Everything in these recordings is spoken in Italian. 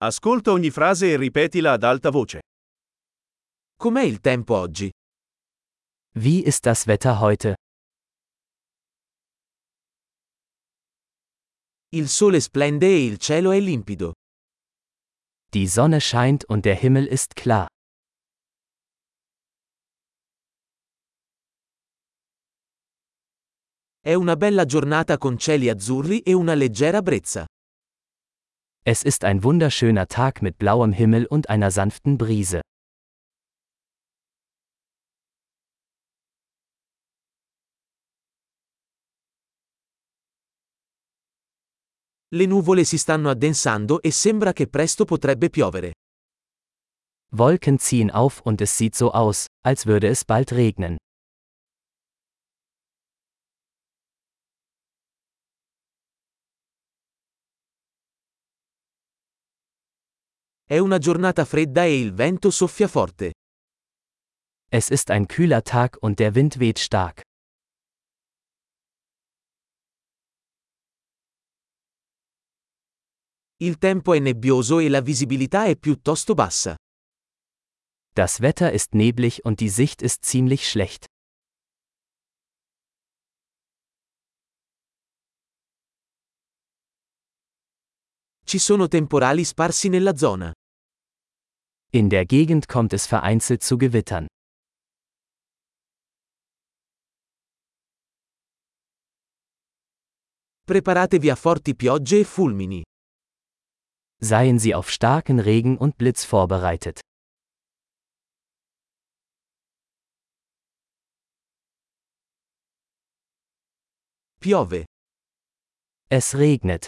Ascolta ogni frase e ripetila ad alta voce. Com'è il tempo oggi? Wie ist das Wetter heute? Il sole splende e il cielo è limpido. Die Sonne scheint und der Himmel ist klar. È una bella giornata con cieli azzurri e una leggera brezza. Es ist ein wunderschöner Tag mit blauem Himmel und einer sanften Brise. Le nuvole si stanno addensando e sembra che presto potrebbe piovere. Wolken ziehen auf und es sieht so aus, als würde es bald regnen. È una giornata fredda e il vento soffia forte. Es ist ein kühler Tag und der Wind weht stark. Il tempo è nebbioso e la visibilità è piuttosto bassa. Das Wetter ist neblig und die Sicht ist ziemlich schlecht. Ci sono temporali sparsi nella zona. In der Gegend kommt es vereinzelt zu Gewittern. Preparatevi a forti piogge e fulmini. Seien Sie auf starken Regen und Blitz vorbereitet. Piove. Es regnet.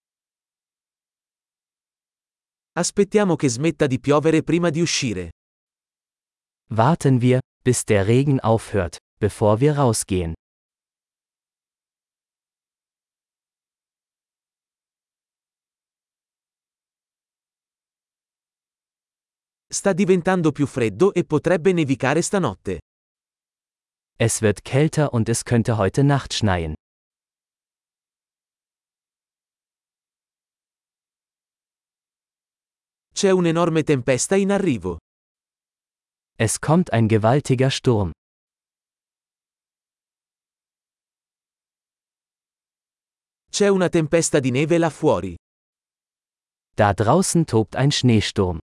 Aspettiamo che smetta di piovere prima di uscire. Warten wir, bis der Regen aufhört, bevor wir rausgehen. Sta diventando più freddo e potrebbe nevicare stanotte. Es wird kälter und es könnte heute Nacht schneien. C'è un'enorme tempesta in arrivo. Es kommt ein gewaltiger Sturm. C'è una tempesta di neve là fuori. Da draußen tobt ein Schneesturm.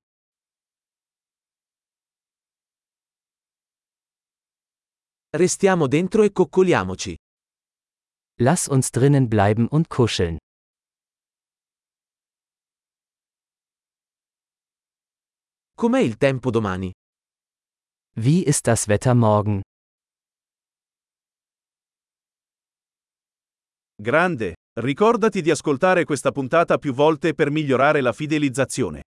Restiamo dentro e coccoliamoci. Lass uns drinnen bleiben und kuscheln. Com'è il tempo domani? Wie ist das Wetter morgen? Grande, ricordati di ascoltare questa puntata più volte per migliorare la fidelizzazione.